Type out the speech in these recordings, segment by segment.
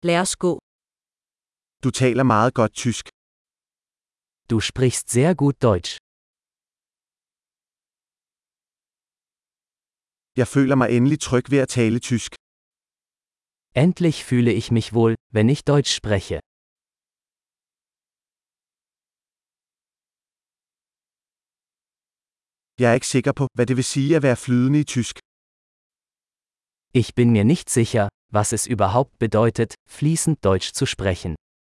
Lad os gå. Du taler meget godt tysk. Du sprichst sehr gut Deutsch. Jeg føler mig endelig tryg ved at tale tysk. Endlich fühle ich mich wohl, wenn ich Deutsch spreche. Jeg er ikke sikker på, hvad det vil sige at være flydende i tysk. Ich bin mir nicht sicher, was es überhaupt bedeutet, fließend Deutsch zu sprechen.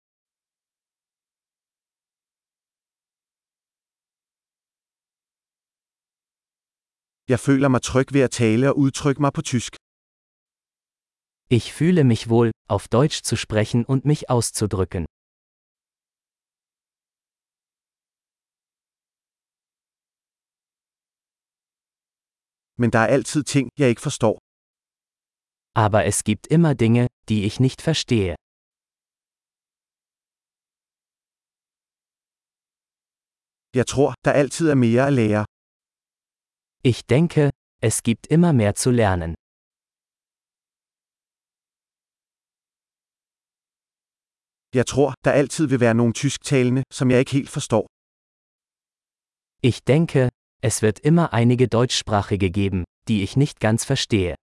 Jeg føler mig tryg ved at tale og udtrykke mig på tysk. Ich fühle mich wohl, auf Deutsch zu sprechen und mich auszudrücken. Men der er altid ting, jeg ikke forstår. Aber es gibt immer Dinge, die ich nicht verstehe. Jeg tror, der altid er mere at lære. Ich denke, es gibt immer mehr zu lernen. Jeg tror, der altid vil være nogle tysktalende, som jeg ikke helt forstår. Ich denke, es wird immer einige Deutschsprachige geben, die ich nicht ganz verstehe.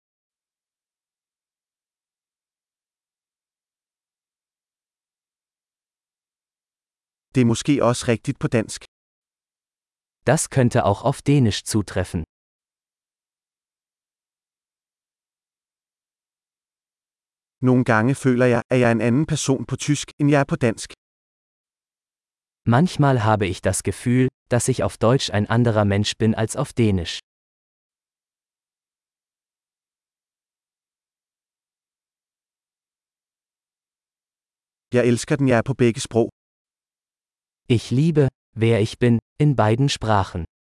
Det er måske også rigtigt på dansk. Das könnte auch auf Dänisch zutreffen. Nogle gange føler jeg, at jeg er en anden person på tysk, end jeg er på dansk. Manchmal habe ich das Gefühl, dass ich auf Deutsch ein anderer Mensch bin als auf Dänisch. Jeg elsker den, jeg er på begge sprog. Ich liebe, wer ich bin, in beiden Sprachen.